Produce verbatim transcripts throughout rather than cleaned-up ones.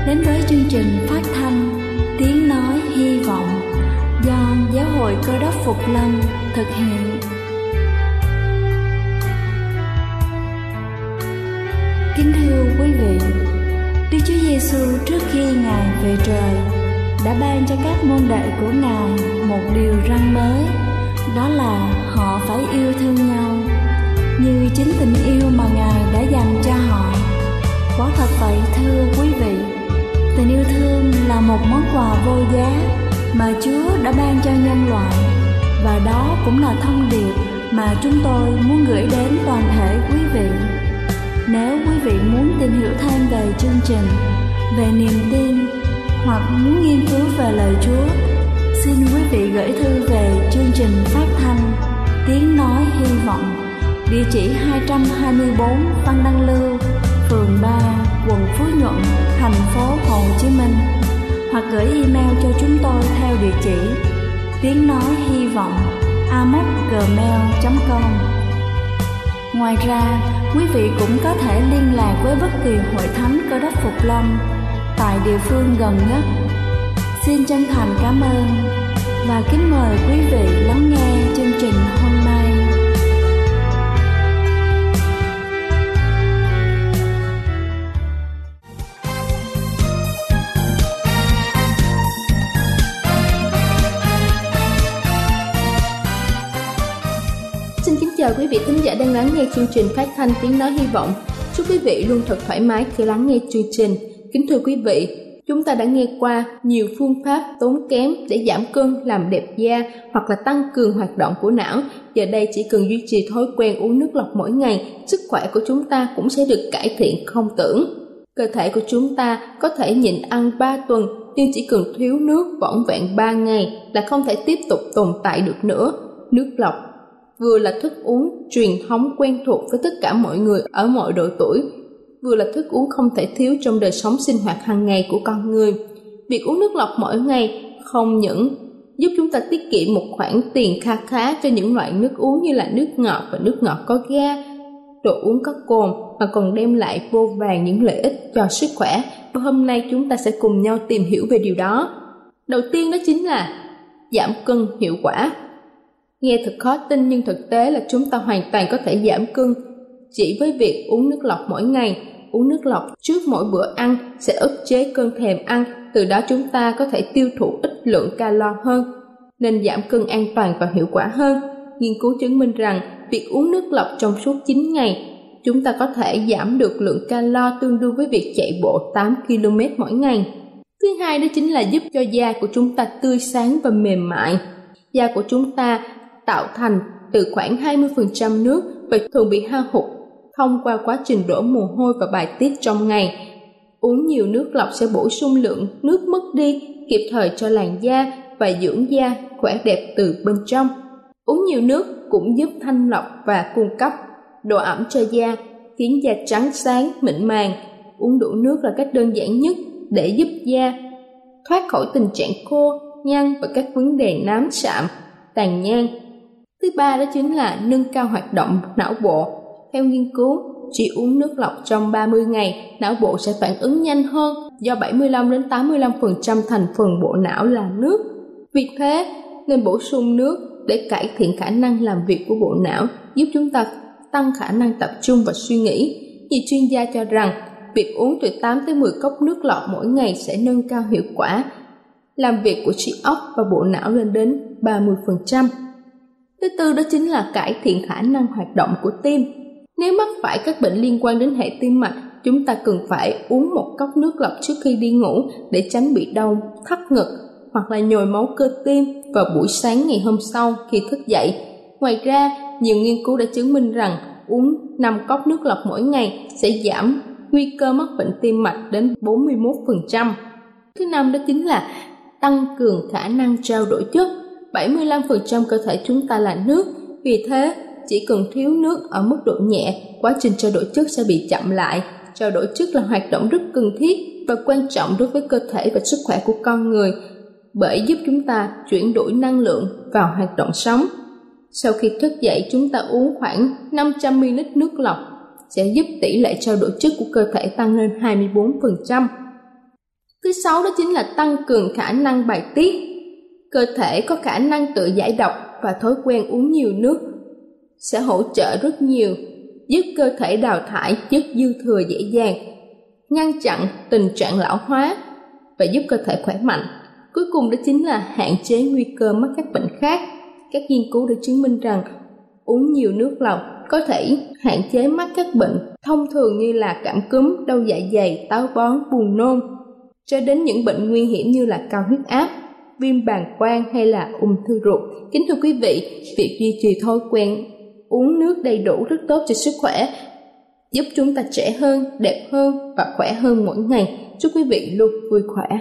đến với chương trình phát thanh Tiếng Nói Hy Vọng do Giáo hội Cơ Đốc Phục Lâm thực hiện. Kính thưa quý vị, Đức Chúa Giêsu trước khi Ngài về trời đã ban cho các môn đệ của Ngài một điều răn mới, đó là họ phải yêu thương nhau như chính tình yêu mà Ngài đã dành cho họ. Quả thật vậy thưa quý vị, tình yêu thương là một món quà vô giá mà Chúa đã ban cho nhân loại, và đó cũng là thông điệp mà chúng tôi muốn gửi đến toàn thể quý vị. Nếu quý vị muốn tìm hiểu thêm về chương trình, về niềm tin hoặc muốn nghiên cứu về lời Chúa, xin quý vị gửi thư về chương trình phát thanh Tiếng Nói Hy Vọng, địa chỉ hai trăm hai mươi tư Văn Đăng Lưu, phường ba, quận Phú Nhuận, thành phố Hồ Chí Minh, hoặc gửi email cho chúng tôi theo địa chỉ tiếng nói hy vọng a m o c gmail chấm com. Ngoài ra, quý vị cũng có thể liên lạc với bất kỳ hội thánh Cơ Đốc Phục Lâm tại địa phương gần nhất. Xin chân thành cảm ơn và kính mời quý vị lắng nghe chương trình hôm nay. Chào quý vị thính giả đang lắng nghe chương trình phát thanh Tiếng Nói Hy Vọng. Chúc quý vị luôn thật thoải mái khi lắng nghe chương trình. Kính thưa quý vị, chúng ta đã nghe qua nhiều phương pháp tốn kém để giảm cân, làm đẹp da hoặc là tăng cường hoạt động của não. Giờ đây chỉ cần duy trì thói quen uống nước lọc mỗi ngày, sức khỏe của chúng ta cũng sẽ được cải thiện không tưởng. Cơ thể của chúng ta có thể nhịn ăn ba tuần, nhưng chỉ cần thiếu nước vỏn vẹn ba ngày là không thể tiếp tục tồn tại được nữa. Nước lọc vừa là thức uống truyền thống quen thuộc với tất cả mọi người ở mọi độ tuổi, vừa là thức uống không thể thiếu trong đời sống sinh hoạt hàng ngày của con người. Việc uống nước lọc mỗi ngày không những giúp chúng ta tiết kiệm một khoản tiền kha khá cho những loại nước uống như là nước ngọt và nước ngọt có ga, đồ uống có cồn, mà còn đem lại vô vàn những lợi ích cho sức khỏe. Và hôm nay chúng ta sẽ cùng nhau tìm hiểu về điều đó. Đầu tiên đó chính là giảm cân hiệu quả. Nghe thật khó tin nhưng thực tế là chúng ta hoàn toàn có thể giảm cân chỉ với việc uống nước lọc mỗi ngày. Uống nước lọc trước mỗi bữa ăn sẽ ức chế cơn thèm ăn, từ đó chúng ta có thể tiêu thụ ít lượng calo hơn, nên giảm cân an toàn và hiệu quả hơn. Nghiên cứu chứng minh rằng việc uống nước lọc trong suốt chín ngày, chúng ta có thể giảm được lượng calo tương đương với việc chạy bộ tám ki lô mét mỗi ngày. Thứ hai đó chính là giúp cho da của chúng ta tươi sáng và mềm mại. Da của chúng ta tạo thành từ khoảng hai mươi phần trăm nước và thường bị hao hụt thông qua quá trình đổ mồ hôi và bài tiết trong ngày. Uống nhiều nước lọc sẽ bổ sung lượng nước mất đi kịp thời cho làn da và dưỡng da khỏe đẹp từ bên trong. Uống nhiều nước cũng giúp thanh lọc và cung cấp độ ẩm cho da, khiến da trắng sáng, mịn màng. Uống đủ nước là cách đơn giản nhất để giúp da thoát khỏi tình trạng khô, nhăn và các vấn đề nám sạm, tàn nhang. Thứ ba đó chính là nâng cao hoạt động não bộ. Theo nghiên cứu, chỉ uống nước lọc trong ba mươi ngày, não bộ sẽ phản ứng nhanh hơn do bảy mươi lăm đến tám mươi lăm phần trăm thành phần bộ não là nước. Vì thế, nên bổ sung nước để cải thiện khả năng làm việc của bộ não, giúp chúng ta tăng khả năng tập trung và suy nghĩ. Nhiều chuyên gia cho rằng, việc uống từ tám tới mười cốc nước lọc mỗi ngày sẽ nâng cao hiệu quả làm việc của trí óc và bộ não lên đến ba mươi phần trăm. Thứ tư đó chính là cải thiện khả năng hoạt động của tim. Nếu mắc phải các bệnh liên quan đến hệ tim mạch, chúng ta cần phải uống một cốc nước lọc trước khi đi ngủ để tránh bị đau thắt ngực hoặc là nhồi máu cơ tim vào buổi sáng ngày hôm sau khi thức dậy. Ngoài ra, nhiều nghiên cứu đã chứng minh rằng uống năm cốc nước lọc mỗi ngày sẽ giảm nguy cơ mắc bệnh tim mạch đến bốn mươi mốt phần trăm. Thứ năm đó chính là tăng cường khả năng trao đổi chất. bảy mươi lăm phần trăm cơ thể chúng ta là nước, vì thế chỉ cần thiếu nước ở mức độ nhẹ, quá trình trao đổi chất sẽ bị chậm lại. Trao đổi chất là hoạt động rất cần thiết và quan trọng đối với cơ thể và sức khỏe của con người, bởi giúp chúng ta chuyển đổi năng lượng vào hoạt động sống. Sau khi thức dậy, chúng ta uống khoảng năm trăm mi li lít nước lọc sẽ giúp tỷ lệ trao đổi chất của cơ thể tăng lên hai mươi bốn phần trăm. Thứ sáu đó chính là tăng cường khả năng bài tiết. Cơ thể có khả năng tự giải độc và thói quen uống nhiều nước sẽ hỗ trợ rất nhiều, giúp cơ thể đào thải chất dư thừa dễ dàng, ngăn chặn tình trạng lão hóa và giúp cơ thể khỏe mạnh. Cuối cùng đó chính là hạn chế nguy cơ mắc các bệnh khác. Các nghiên cứu đã chứng minh rằng uống nhiều nước lọc có thể hạn chế mắc các bệnh thông thường như là cảm cúm, đau dạ dày, táo bón, buồn nôn, cho đến những bệnh nguy hiểm như là cao huyết áp, viêm bàng quang hay là ung thư ruột. Kính thưa quý vị, việc duy trì thói quen uống nước đầy đủ rất tốt cho sức khỏe, giúp chúng ta trẻ hơn, đẹp hơn và khỏe hơn mỗi ngày. Chúc quý vị luôn vui khỏe.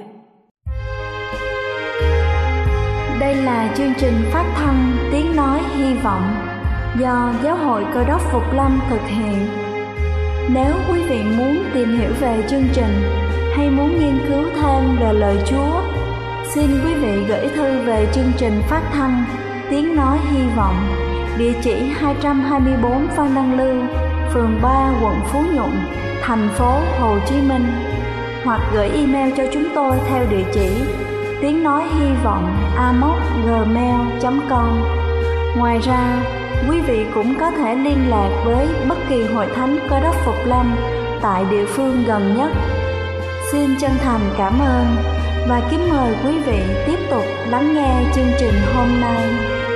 Đây là chương trình phát thanh Tiếng Nói Hy Vọng do Giáo hội Cơ đốc Phục Lâm thực hiện. Nếu quý vị muốn tìm hiểu về chương trình hay muốn nghiên cứu thêm về lời Chúa, xin quý vị gửi thư về chương trình phát thanh Tiếng Nói Hy Vọng, địa chỉ hai trăm hai mươi bốn Phan Đăng Lưu, phường ba, quận Phú Nhuận, thành phố Hồ Chí Minh, hoặc gửi email cho chúng tôi theo địa chỉ tiếng nói hy vọng a m o c gmail chấm com. Ngoài ra, quý vị cũng có thể liên lạc với bất kỳ hội thánh Cơ đốc Phục Lâm tại địa phương gần nhất. Xin chân thành cảm ơn và kính mời quý vị tiếp tục lắng nghe chương trình hôm nay.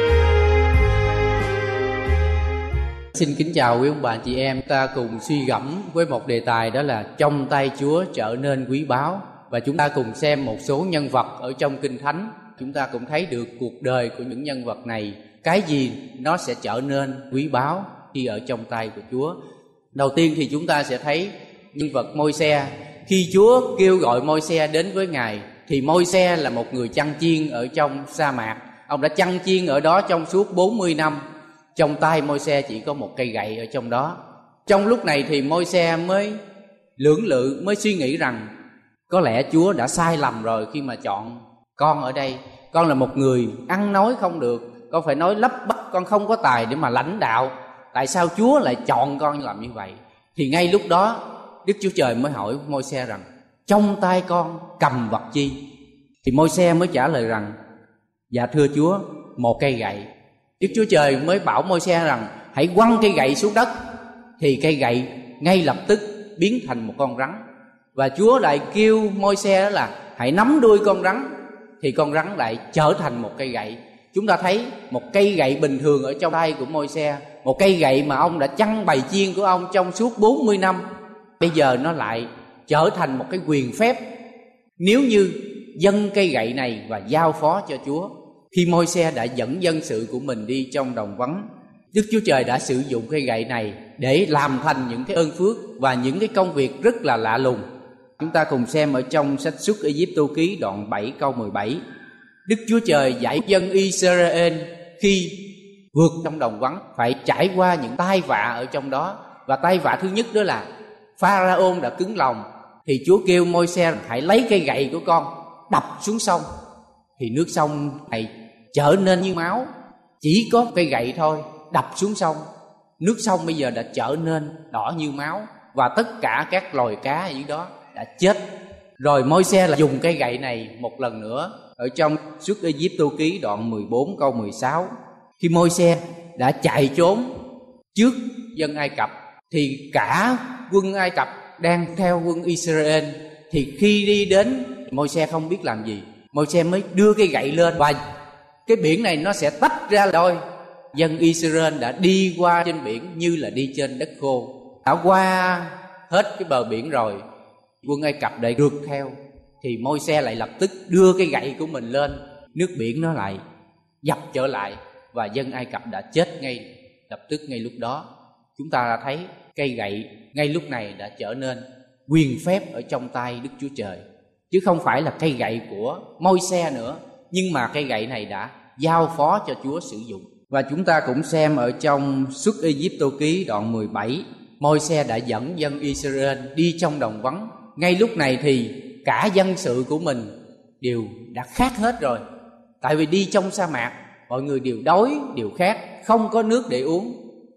Xin kính chào quý ông bà chị em, ta cùng suy gẫm với một đề tài đó là trong tay Chúa trở nên quý báu. Và chúng ta cùng xem một số nhân vật ở trong Kinh Thánh. Chúng ta cũng thấy được cuộc đời của những nhân vật này, cái gì nó sẽ trở nên quý báu khi ở trong tay của Chúa. Đầu tiên thì chúng ta sẽ thấy nhân vật Môi-se. Khi Chúa kêu gọi Môi-se đến với Ngài thì Môi-se là một người chăn chiên ở trong sa mạc. Ông đã chăn chiên ở đó trong suốt bốn mươi năm. Trong tay Môi-se chỉ có một cây gậy ở trong đó. Trong lúc này thì Môi-se mới lưỡng lự, mới suy nghĩ rằng có lẽ Chúa đã sai lầm rồi khi mà chọn con ở đây. Con là một người ăn nói không được, con phải nói lắp bắp, con không có tài để mà lãnh đạo. Tại sao Chúa lại chọn con làm như vậy? Thì ngay lúc đó Đức Chúa Trời mới hỏi Môi-se rằng trong tay con cầm vật chi? Thì Môi-se mới trả lời rằng dạ thưa Chúa, một cây gậy. Đức Chúa Trời mới bảo Môi-se rằng hãy quăng cây gậy xuống đất. Thì cây gậy ngay lập tức biến thành một con rắn. Và Chúa lại kêu Môi-se đó là hãy nắm đuôi con rắn. Thì con rắn lại trở thành một cây gậy. Chúng ta thấy một cây gậy bình thường ở trong tay của Môi-se, một cây gậy mà ông đã chăn bầy chiên của ông trong suốt bốn mươi năm, bây giờ nó lại trở thành một cái quyền phép nếu như dâng cây gậy này và giao phó cho Chúa. Khi Môi-se đã dẫn dân sự của mình đi trong đồng vắng, Đức Chúa Trời đã sử dụng cây gậy này để làm thành những cái ơn phước và những cái công việc rất là lạ lùng. Chúng ta cùng xem ở trong sách Xuất Ê-díp-tô ký đoạn bảy câu mười bảy. Đức Chúa Trời dạy dân Israel khi vượt trong đồng vắng phải trải qua những tai vạ ở trong đó. Và tai vạ thứ nhất đó là Pharaôn đã cứng lòng. Thì Chúa kêu Môi-se hãy lấy cây gậy của con đập xuống sông. Thì nước sông này trở nên như máu. Chỉ có cây gậy thôi, đập xuống sông, nước sông bây giờ đã trở nên đỏ như máu. Và tất cả các loài cá ở dưới đó đã chết. Rồi Môi-se là dùng cây gậy này một lần nữa ở trong Xuất Ê-díp-tô ký đoạn mười bốn câu mười sáu. Khi Môi-se đã chạy trốn trước dân Ai Cập thì cả quân Ai Cập đang theo quân Israel. Thì khi đi đến, Môi-se không biết làm gì, Môi-se mới đưa cây gậy lên và cái biển này nó sẽ tách ra đôi. Dân Israel đã đi qua trên biển như là đi trên đất khô. Đã qua hết cái bờ biển rồi, quân Ai Cập lại rượt theo. Thì Môi-se lại lập tức đưa cây gậy của mình lên, nước biển nó lại dập trở lại và dân Ai Cập đã chết ngay lập tức ngay lúc đó. Chúng ta đã thấy cây gậy ngay lúc này đã trở nên quyền phép ở trong tay Đức Chúa Trời, chứ không phải là cây gậy của Môi-se nữa, nhưng mà cây gậy này đã giao phó cho Chúa sử dụng. Và chúng ta cũng xem ở trong Xuất Ê-díp-tô ký đoạn mười bảy, Môi-se đã dẫn dân Israel đi trong đồng vắng. Ngay lúc này thì cả dân sự của mình đều đã khát hết rồi. Tại vì đi trong sa mạc, mọi người đều đói, đều khát, không có nước để uống.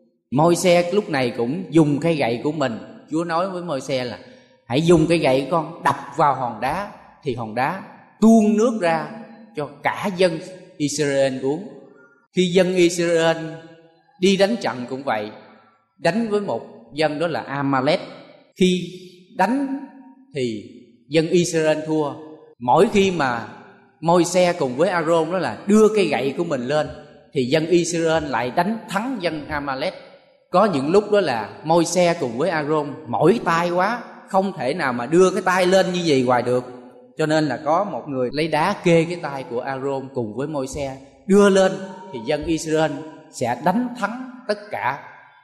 Môi-se lúc này cũng dùng cây gậy của mình. Chúa nói với Môi-se là hãy dùng cây gậy con đập vào hòn đá. thì hòn đá tuôn nước ra cho cả dân Israel uống. Khi dân Israel đi đánh trận cũng vậy, đánh với một dân đó là Amalek. Khi đánh thì dân Israel thua. Mỗi khi mà Môi-se cùng với A-rôn đó là đưa cây gậy của mình lên thì dân Israel lại đánh thắng dân Amalek. Có những lúc đó là Môi-se cùng với A-rôn mỏi tay quá, không thể nào mà đưa cái tay lên như vậy hoài được, cho nên là có một người lấy đá kê cái tay của A-rôn cùng với Môi-se đưa lên thì dân Israel sẽ đánh thắng tất cả.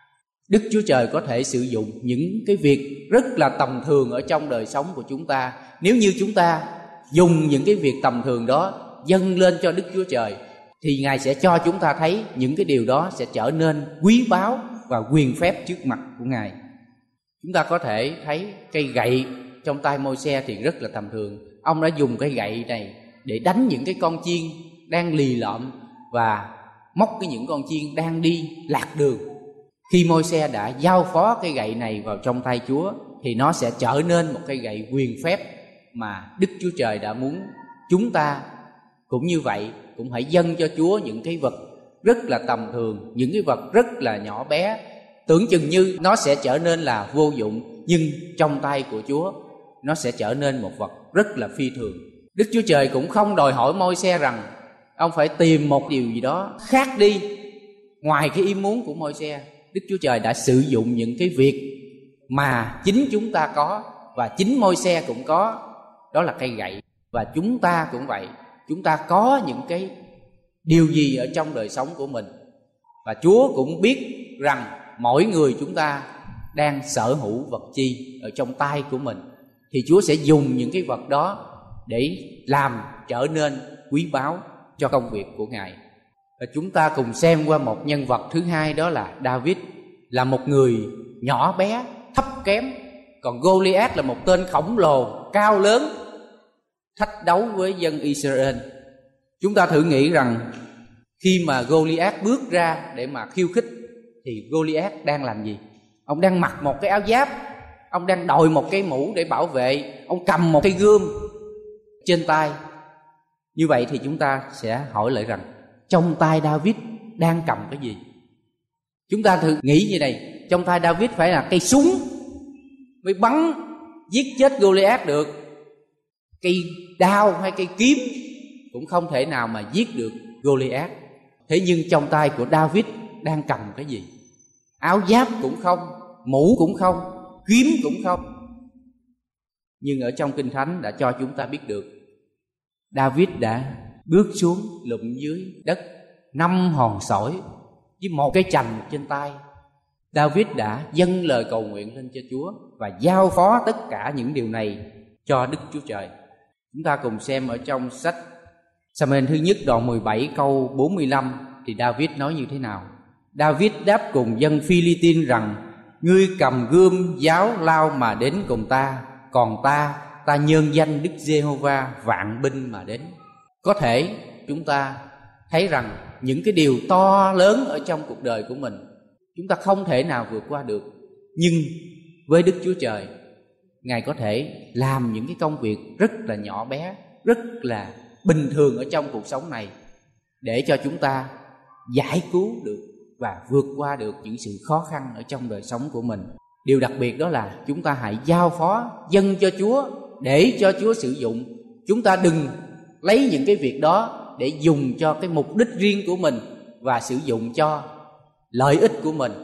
Đức Chúa Trời có thể sử dụng những cái việc rất là tầm thường ở trong đời sống của chúng ta. Nếu như chúng ta dùng những cái việc tầm thường đó dâng lên cho Đức Chúa Trời thì Ngài sẽ cho chúng ta thấy những cái điều đó sẽ trở nên quý báu và quyền phép trước mặt của Ngài. Chúng ta có thể thấy cây gậy trong tay Môi-se thì rất là tầm thường. Ông đã dùng cây gậy này để đánh những cái con chiên đang lì lợm và móc cái những con chiên đang đi lạc đường. Khi Môi-se đã giao phó cây gậy này vào trong tay Chúa thì nó sẽ trở nên một cây gậy quyền phép mà Đức Chúa Trời đã muốn chúng ta cũng như vậy, cũng hãy dâng cho Chúa những cái vật rất là tầm thường, những cái vật rất là nhỏ bé, tưởng chừng như nó sẽ trở nên là vô dụng, nhưng trong tay của Chúa nó sẽ trở nên một vật rất là phi thường. Đức Chúa Trời cũng không đòi hỏi Môi-se rằng ông phải tìm một điều gì đó khác đi ngoài cái ý muốn của Môi-se. Đức Chúa Trời đã sử dụng những cái việc mà chính chúng ta có và chính Môi-se cũng có, đó là cây gậy. Và chúng ta cũng vậy, chúng ta có những cái điều gì ở trong đời sống của mình, và Chúa cũng biết rằng mỗi người chúng ta đang sở hữu vật chi ở trong tay của mình, thì Chúa sẽ dùng những cái vật đó để làm trở nên quý báu cho công việc của Ngài. Và chúng ta cùng xem qua một nhân vật thứ hai, đó là David, là một người nhỏ bé, thấp kém, còn Goliath là một tên khổng lồ, cao lớn, thách đấu với dân Israel. Chúng ta thử nghĩ rằng khi mà Goliath bước ra để mà khiêu khích thì Goliath đang làm gì? Ông đang mặc một cái áo giáp, ông đang đội một cái mũ để bảo vệ, ông cầm một cây gươm trên tay. Như vậy thì chúng ta sẽ hỏi lại rằng trong tay David đang cầm cái gì? Chúng ta thử nghĩ như này, trong tay David phải là cây súng mới bắn giết chết Goliath được, cây đao hay cây kiếm cũng không thể nào mà giết được Goliath. Thế nhưng trong tay của David đang cầm cái gì? Áo giáp cũng không, mũ cũng không, kiếm cũng không. Nhưng ở trong Kinh Thánh đã cho chúng ta biết được David đã bước xuống lụm dưới đất năm hòn sỏi với một cái chành trên tay. David đã dâng lời cầu nguyện lên cho Chúa và giao phó tất cả những điều này cho Đức Chúa Trời. Chúng ta cùng xem ở trong sách Sa-mu-eel thứ nhất đoạn mười bảy câu bốn mươi lăm thì David nói như thế nào. David đáp cùng dân Phi-li-tin rằng: ngươi cầm gươm giáo lao mà đến cùng ta, còn ta, ta nhân danh Đức Giê-hô-va vạn binh mà đến. Có thể chúng ta thấy rằng những cái điều to lớn ở trong cuộc đời của mình chúng ta không thể nào vượt qua được, nhưng với Đức Chúa Trời, Ngài có thể làm những cái công việc rất là nhỏ bé, rất là bình thường ở trong cuộc sống này để cho chúng ta giải cứu được và vượt qua được những sự khó khăn ở trong đời sống của mình. Điều đặc biệt đó là chúng ta hãy giao phó dâng cho Chúa để cho Chúa sử dụng. Chúng ta đừng lấy những cái việc đó để dùng cho cái mục đích riêng của mình và sử dụng cho lợi ích của mình.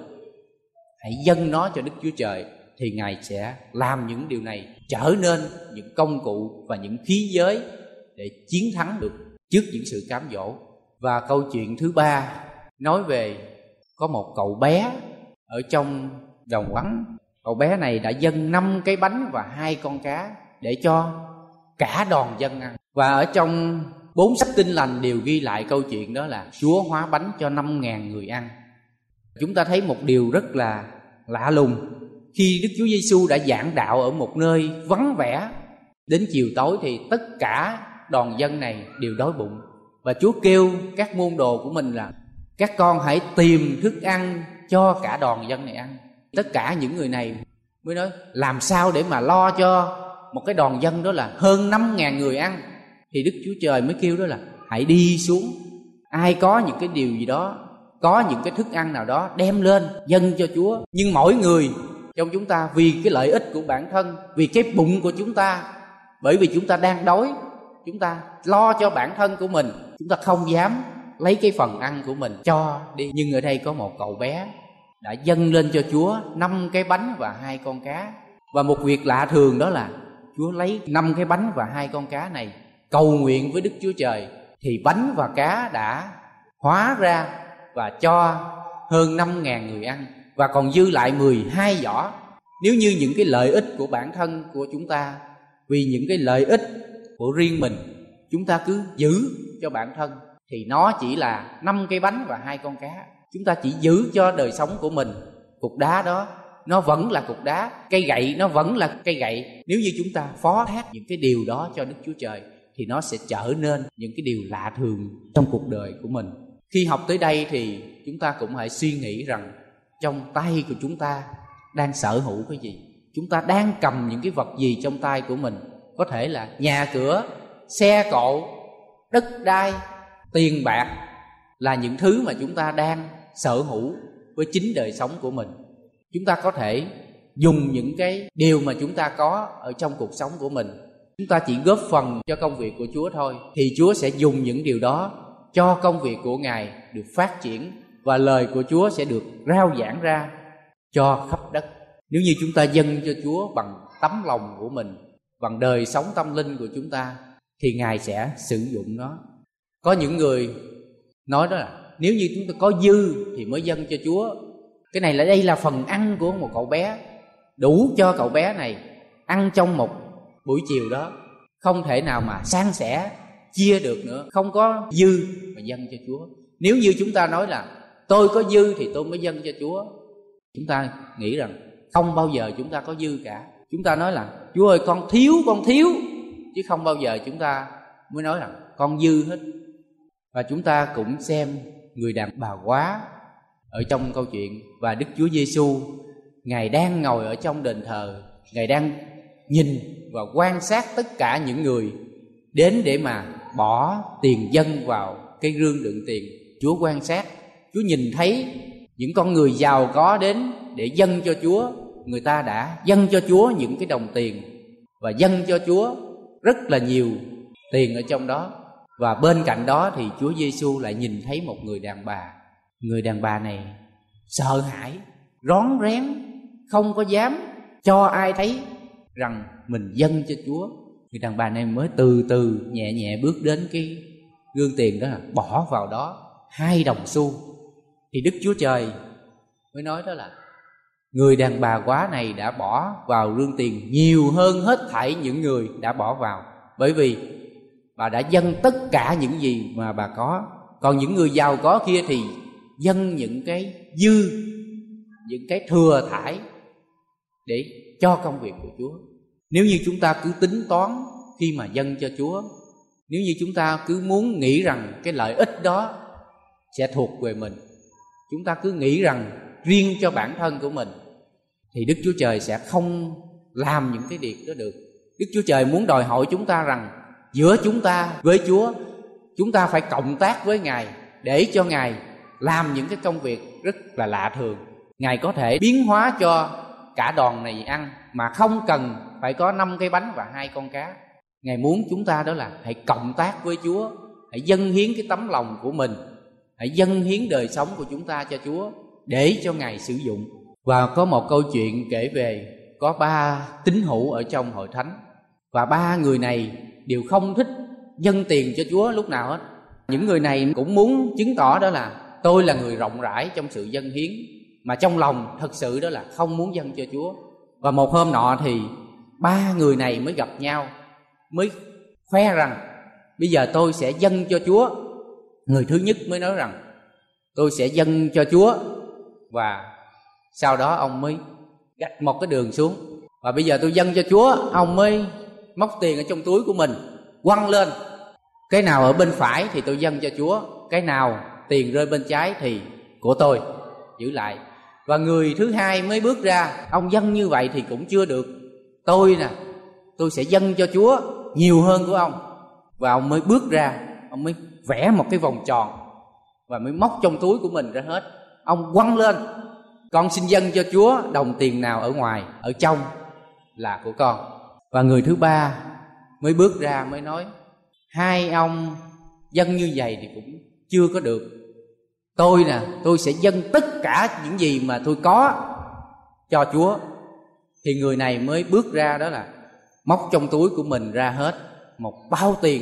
Hãy dâng nó cho Đức Chúa Trời thì Ngài sẽ làm những điều này trở nên những công cụ và những khí giới để chiến thắng được trước những sự cám dỗ. Và câu chuyện thứ ba nói về có một cậu bé ở trong đồng vắng. Cậu bé này đã dâng năm cái bánh và hai con cá để cho cả đoàn dân ăn. Và ở trong bốn sách Tin Lành đều ghi lại câu chuyện đó là Chúa hóa bánh cho năm ngàn người ăn. Chúng ta thấy một điều rất là lạ lùng. Khi Đức Chúa Giêsu đã giảng đạo ở một nơi vắng vẻ, đến chiều tối thì tất cả đoàn dân này đều đói bụng. Và Chúa kêu các môn đồ của mình là các con hãy tìm thức ăn cho cả đoàn dân này ăn. Tất cả những người này mới nói làm sao để mà lo cho một cái đoàn dân đó là hơn năm ngàn người ăn, thì Đức Chúa Trời mới kêu đó là hãy đi xuống, ai có những cái điều gì đó, có những cái thức ăn nào đó đem lên dâng cho Chúa. Nhưng mỗi người trong chúng ta vì cái lợi ích của bản thân, vì cái bụng của chúng ta, bởi vì chúng ta đang đói, chúng ta lo cho bản thân của mình, chúng ta không dám lấy cái phần ăn của mình cho đi. Nhưng ở đây có một cậu bé đã dâng lên cho Chúa năm cái bánh và hai con cá. Và một việc lạ thường đó là Chúa lấy năm cái bánh và hai con cá này cầu nguyện với Đức Chúa Trời, thì bánh và cá đã hóa ra và cho hơn năm ngàn người ăn, và còn dư lại mười hai giỏ. Nếu như những cái lợi ích của bản thân của chúng ta, vì những cái lợi ích của riêng mình, chúng ta cứ giữ cho bản thân, thì nó chỉ là năm cái bánh và hai con cá. Chúng ta chỉ giữ cho đời sống của mình. Cục đá đó nó vẫn là cục đá, cây gậy nó vẫn là cây gậy. Nếu như chúng ta phó thác những cái điều đó cho Đức Chúa Trời, thì nó sẽ trở nên những cái điều lạ thường trong cuộc đời của mình. Khi học tới đây thì chúng ta cũng hãy suy nghĩ rằng trong tay của chúng ta đang sở hữu cái gì. Chúng ta đang cầm những cái vật gì trong tay của mình. Có thể là nhà cửa, xe cộ, đất đai, tiền bạc, là những thứ mà chúng ta đang sở hữu với chính đời sống của mình. Chúng ta có thể dùng những cái điều mà chúng ta có ở trong cuộc sống của mình, chúng ta chỉ góp phần cho công việc của Chúa thôi, thì Chúa sẽ dùng những điều đó cho công việc của Ngài được phát triển, và lời của Chúa sẽ được rao giảng ra cho khắp đất. Nếu như chúng ta dâng cho Chúa bằng tấm lòng của mình, bằng đời sống tâm linh của chúng ta, thì Ngài sẽ sử dụng nó. Có những người nói đó là nếu như chúng ta có dư thì mới dâng cho Chúa. Cái này là đây là phần ăn của một cậu bé, đủ cho cậu bé này ăn trong một buổi chiều đó, không thể nào mà san sẻ chia được nữa, không có dư mà dâng cho Chúa. Nếu như chúng ta nói là tôi có dư thì tôi mới dâng cho Chúa, chúng ta nghĩ rằng không bao giờ chúng ta có dư cả. Chúng ta nói là Chúa ơi con thiếu, con thiếu, chứ không bao giờ chúng ta mới nói rằng con dư hết. Và chúng ta cũng xem người đàn bà quá ở trong câu chuyện, và Đức Chúa Giêsu Ngài đang ngồi ở trong đền thờ, Ngài đang nhìn và quan sát tất cả những người đến để mà bỏ tiền dâng vào cái rương đựng tiền. Chúa quan sát, Chúa nhìn thấy những con người giàu có đến để dâng cho Chúa. Người ta đã dâng cho Chúa những cái đồng tiền và dâng cho Chúa rất là nhiều tiền ở trong đó. Và bên cạnh đó thì Chúa Giêsu lại nhìn thấy một người đàn bà. Người đàn bà này sợ hãi, rón rén, không có dám cho ai thấy rằng mình dâng cho Chúa. Người đàn bà này mới từ từ nhẹ nhẹ bước đến cái gương tiền đó, là bỏ vào đó hai đồng xu. Thì Đức Chúa Trời mới nói đó là người đàn bà quá này đã bỏ vào rương tiền nhiều hơn hết thảy những người đã bỏ vào, bởi vì bà đã dâng tất cả những gì mà bà có. Còn những người giàu có kia thì dâng những cái dư, những cái thừa thải để cho công việc của Chúa. Nếu như chúng ta cứ tính toán khi mà dâng cho Chúa, nếu như chúng ta cứ muốn nghĩ rằng cái lợi ích đó sẽ thuộc về mình, chúng ta cứ nghĩ rằng riêng cho bản thân của mình, thì Đức Chúa Trời sẽ không làm những cái việc đó được. Đức Chúa Trời muốn đòi hỏi chúng ta rằng giữa chúng ta với Chúa, chúng ta phải cộng tác với Ngài để cho Ngài làm những cái công việc rất là lạ thường. Ngài có thể biến hóa cho cả đoàn này ăn mà không cần phải có năm cái bánh và hai con cá. Ngài muốn chúng ta đó là hãy cộng tác với Chúa, hãy dâng hiến cái tấm lòng của mình, hãy dâng hiến đời sống của chúng ta cho Chúa để cho Ngài sử dụng. Và có một câu chuyện kể về có ba tín hữu ở trong hội thánh, và ba người này đều không thích dâng tiền cho Chúa lúc nào hết. Những người này cũng muốn chứng tỏ đó là tôi là người rộng rãi trong sự dâng hiến, mà trong lòng thật sự đó là không muốn dâng cho Chúa. Và một hôm nọ thì ba người này mới gặp nhau, mới khoe rằng bây giờ tôi sẽ dâng cho Chúa. Người thứ nhất mới nói rằng tôi sẽ dâng cho Chúa, và sau đó ông mới gạch một cái đường xuống, và bây giờ tôi dâng cho Chúa. Ông mới móc tiền ở trong túi của mình quăng lên, cái nào ở bên phải thì tôi dâng cho Chúa, cái nào tiền rơi bên trái thì của tôi giữ lại. Và người thứ hai mới bước ra, ông dâng như vậy thì cũng chưa được. Tôi nè, tôi sẽ dâng cho Chúa nhiều hơn của ông. Và ông mới bước ra, ông mới vẽ một cái vòng tròn và mới móc trong túi của mình ra hết. Ông quăng lên: con xin dâng cho Chúa đồng tiền nào ở ngoài, ở trong là của con. Và người thứ ba mới bước ra mới nói: hai ông dâng như vậy thì cũng chưa có được. Tôi nè, tôi sẽ dâng tất cả những gì mà tôi có cho Chúa. Thì người này mới bước ra, đó là móc trong túi của mình ra hết một bao tiền.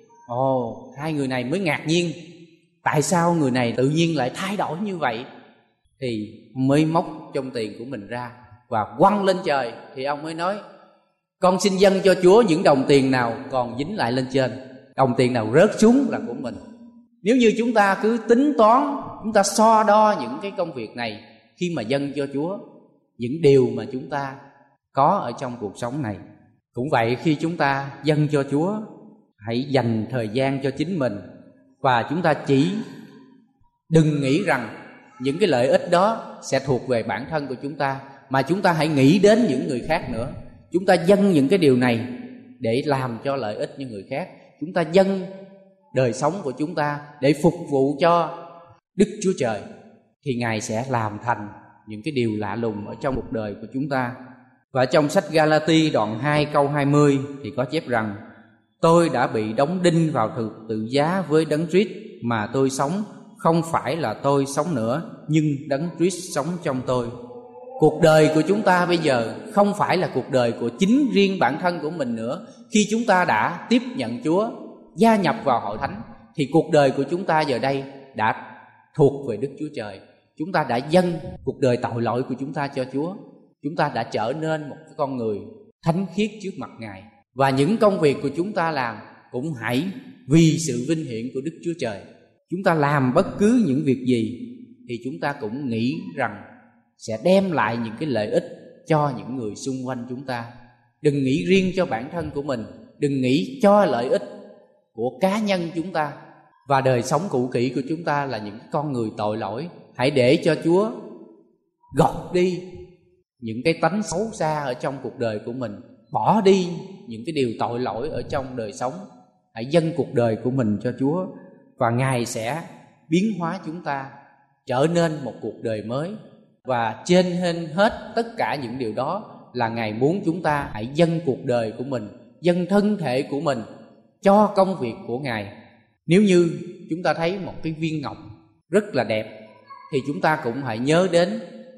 Ồ, hai người này mới ngạc nhiên, tại sao người này tự nhiên lại thay đổi như vậy? Thì mới móc trong tiền của mình ra và quăng lên trời. Thì ông mới nói: con xin dâng cho Chúa những đồng tiền nào còn dính lại lên trên, đồng tiền nào rớt xuống là của mình. Nếu như chúng ta cứ tính toán, chúng ta so đo những cái công việc này khi mà dâng cho Chúa, những điều mà chúng ta có ở trong cuộc sống này. Cũng vậy, khi chúng ta dâng cho Chúa, hãy dành thời gian cho chính mình. Và chúng ta chỉ đừng nghĩ rằng những cái lợi ích đó sẽ thuộc về bản thân của chúng ta, mà chúng ta hãy nghĩ đến những người khác nữa. Chúng ta dâng những cái điều này để làm cho lợi ích những người khác. Chúng ta dâng đời sống của chúng ta để phục vụ cho Đức Chúa Trời, thì Ngài sẽ làm thành những cái điều lạ lùng ở trong cuộc đời của chúng ta. Và trong sách Ga-la-ti đoạn hai câu hai mươi thì có chép rằng: tôi đã bị đóng đinh vào thực tự giá với Đấng Christ, mà tôi sống không phải là tôi sống nữa, nhưng Đấng Christ sống trong tôi. Cuộc đời của chúng ta bây giờ không phải là cuộc đời của chính riêng bản thân của mình nữa. Khi chúng ta đã tiếp nhận Chúa, gia nhập vào hội thánh, thì cuộc đời của chúng ta giờ đây đã thuộc về Đức Chúa Trời. Chúng ta đã dâng cuộc đời tội lỗi của chúng ta cho Chúa. Chúng ta đã trở nên một cái con người thánh khiết trước mặt Ngài. Và những công việc của chúng ta làm cũng hãy vì sự vinh hiển của Đức Chúa Trời. Chúng ta làm bất cứ những việc gì thì chúng ta cũng nghĩ rằng sẽ đem lại những cái lợi ích cho những người xung quanh chúng ta. Đừng nghĩ riêng cho bản thân của mình, đừng nghĩ cho lợi ích của cá nhân chúng ta. Và đời sống cũ kỹ của chúng ta là những con người tội lỗi. Hãy để cho Chúa gọt đi những cái tánh xấu xa ở trong cuộc đời của mình, bỏ đi những cái điều tội lỗi ở trong đời sống. Hãy dâng cuộc đời của mình cho Chúa, và Ngài sẽ biến hóa chúng ta trở nên một cuộc đời mới. Và trên hết tất cả những điều đó là Ngài muốn chúng ta hãy dâng cuộc đời của mình, dâng thân thể của mình cho công việc của Ngài. Nếu như chúng ta thấy một cái viên ngọc rất là đẹp, thì chúng ta cũng hãy nhớ đến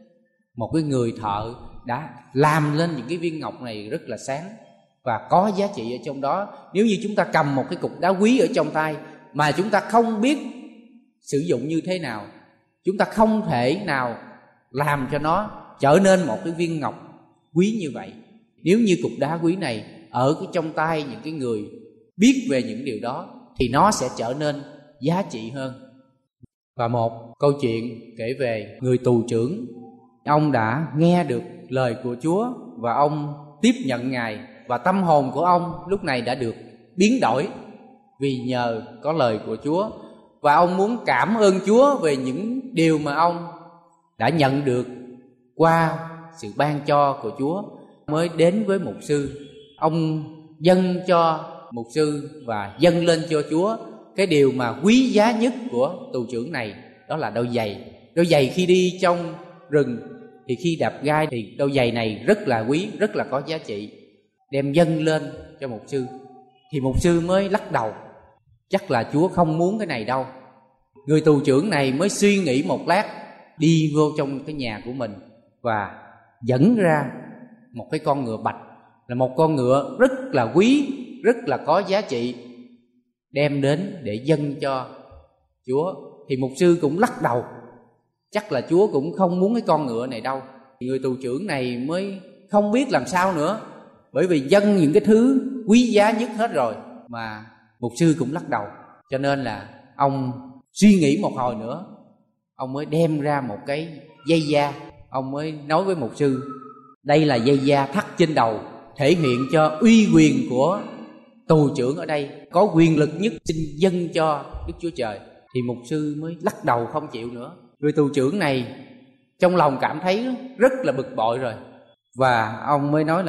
một cái người thợ đã làm lên những cái viên ngọc này rất là sáng và có giá trị ở trong đó. Nếu như chúng ta cầm một cái cục đá quý ở trong tay mà chúng ta không biết sử dụng như thế nào, chúng ta không thể nào làm cho nó trở nên một cái viên ngọc quý như vậy. Nếu như cục đá quý này ở cái trong tay những cái người biết về những điều đó thì nó sẽ trở nên giá trị hơn. Và một câu chuyện kể về người tù trưởng. Ông đã nghe được lời của Chúa và ông tiếp nhận Ngài, và tâm hồn của ông lúc này đã được biến đổi vì nhờ có lời của Chúa. Và ông muốn cảm ơn Chúa về những điều mà ông đã nhận được qua sự ban cho của Chúa. Mới đến với mục sư, ông dâng cho mục sư và dâng lên cho Chúa cái điều mà quý giá nhất của tù trưởng này, đó là đôi giày. Đôi giày khi đi trong rừng thì khi đạp gai thì đôi giày này rất là quý, rất là có giá trị. Đem dâng lên cho mục sư thì mục sư mới lắc đầu, chắc là Chúa không muốn cái này đâu. Người tù trưởng này mới suy nghĩ một lát, đi vô trong cái nhà của mình và dẫn ra một cái con ngựa bạch, là một con ngựa rất là quý, rất là có giá trị, đem đến để dâng cho Chúa. Thì mục sư cũng lắc đầu, chắc là Chúa cũng không muốn cái con ngựa này đâu. Người tù trưởng này mới không biết làm sao nữa, bởi vì dâng những cái thứ quý giá nhất hết rồi mà mục sư cũng lắc đầu. Cho nên là ông suy nghĩ một hồi nữa, ông mới đem ra một cái dây da. Ông mới nói với mục sư, đây là dây da thắt trên đầu, thể hiện cho uy quyền của tù trưởng ở đây, có quyền lực nhất, xin dâng cho Đức Chúa Trời. Thì mục sư mới lắc đầu không chịu nữa. Người tù trưởng này trong lòng cảm thấy rất là bực bội rồi, và ông mới nói là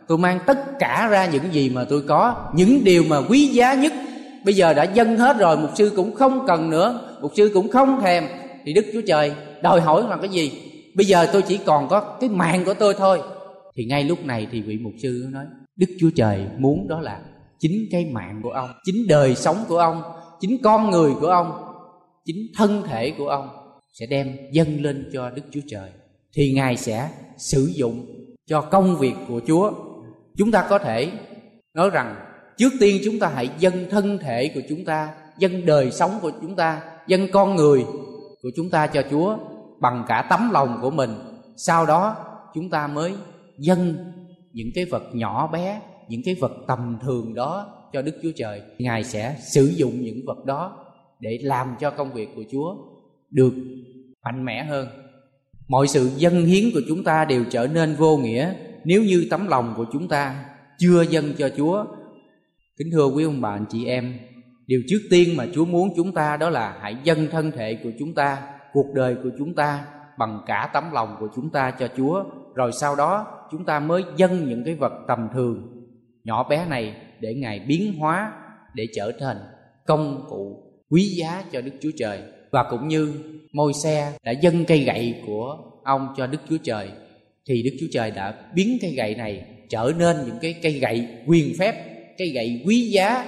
tôi mang tất cả ra những gì mà tôi có, những điều mà quý giá nhất bây giờ đã dâng hết rồi, mục sư cũng không cần nữa, mục sư cũng không thèm, thì Đức Chúa Trời đòi hỏi là cái gì? Bây giờ tôi chỉ còn có cái mạng của tôi thôi. Thì ngay lúc này thì vị mục sư nói, Đức Chúa Trời muốn đó là chính cái mạng của ông, chính đời sống của ông, chính con người của ông, chính thân thể của ông sẽ đem dâng lên cho Đức Chúa Trời. Thì Ngài sẽ sử dụng cho công việc của Chúa. Chúng ta có thể nói rằng trước tiên chúng ta hãy dâng thân thể của chúng ta, dâng đời sống của chúng ta, dâng con người của chúng ta cho Chúa bằng cả tấm lòng của mình. Sau đó chúng ta mới dâng những cái vật nhỏ bé, những cái vật tầm thường đó cho Đức Chúa Trời. Ngài sẽ sử dụng những vật đó để làm cho công việc của Chúa được mạnh mẽ hơn. Mọi sự dâng hiến của chúng ta đều trở nên vô nghĩa nếu như tấm lòng của chúng ta chưa dâng cho Chúa. Kính thưa quý ông bà anh chị em, điều trước tiên mà Chúa muốn chúng ta đó là hãy dâng thân thể của chúng ta, cuộc đời của chúng ta bằng cả tấm lòng của chúng ta cho Chúa. Rồi sau đó chúng ta mới dâng những cái vật tầm thường nhỏ bé này để Ngài biến hóa, để trở thành công cụ quý giá cho Đức Chúa Trời. Và cũng như Môi-se đã dâng cây gậy của ông cho Đức Chúa Trời, thì Đức Chúa Trời đã biến cây gậy này trở nên những cái cây gậy quyền phép, cây gậy quý giá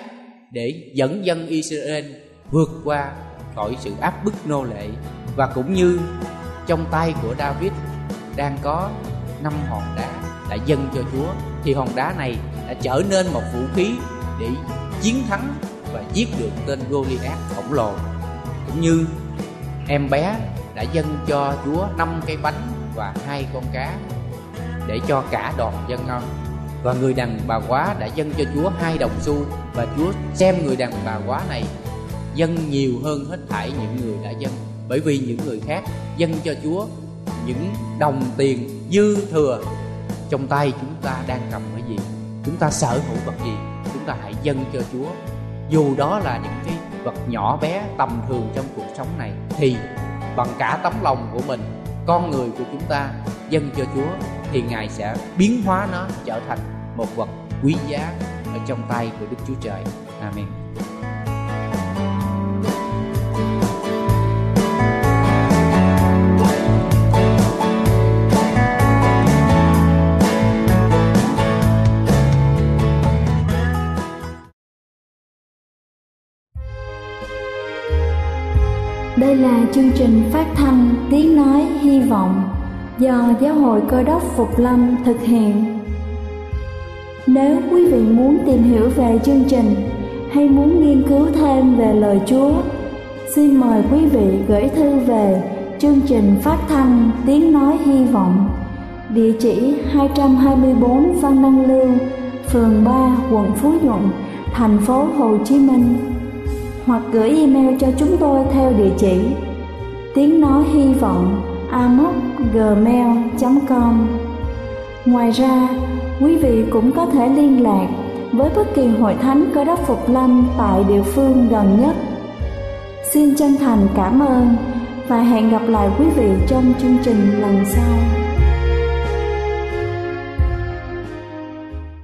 để dẫn dân Israel vượt qua khỏi sự áp bức nô lệ. Và cũng như trong tay của David đang có năm hòn đá đã dâng cho Chúa, thì hòn đá này đã trở nên một vũ khí để chiến thắng và giết được tên Goliath khổng lồ. Cũng như em bé đã dâng cho Chúa năm cái bánh và hai con cá để cho cả đoàn dân ăn. Và người đàn bà quá đã dâng cho Chúa hai đồng xu, và Chúa xem người đàn bà quá này dâng nhiều hơn hết thảy những người đã dâng. Bởi vì những người khác dâng cho Chúa những đồng tiền dư thừa. Trong tay chúng ta đang cầm cái gì, chúng ta sở hữu vật gì, chúng ta hãy dâng cho Chúa. Dù đó là những cái vật nhỏ bé tầm thường trong cuộc sống này, thì bằng cả tấm lòng của mình, con người của chúng ta dâng cho Chúa, thì Ngài sẽ biến hóa nó trở thành một vật quý giá ở trong tay của Đức Chúa Trời. Amen. Đây là chương trình phát thanh Tiếng Nói Hy Vọng do Giáo hội Cơ đốc Phục Lâm thực hiện. Nếu quý vị muốn tìm hiểu về chương trình hay muốn nghiên cứu thêm về lời Chúa, xin mời quý vị gửi thư về chương trình phát thanh Tiếng Nói Hy Vọng, địa chỉ hai trăm hai mươi bốn Văn Đăng Lưu, phường ba, quận Phú Nhuận, thành phố Hồ Chí Minh, hoặc gửi email cho chúng tôi theo địa chỉ tiếng nói hy vọng a m o c gmail chấm com. Ngoài ra, quý vị cũng có thể liên lạc với bất kỳ hội thánh Cơ đốc Phục Lâm tại địa phương gần nhất. Xin chân thành cảm ơn và hẹn gặp lại quý vị trong chương trình lần sau.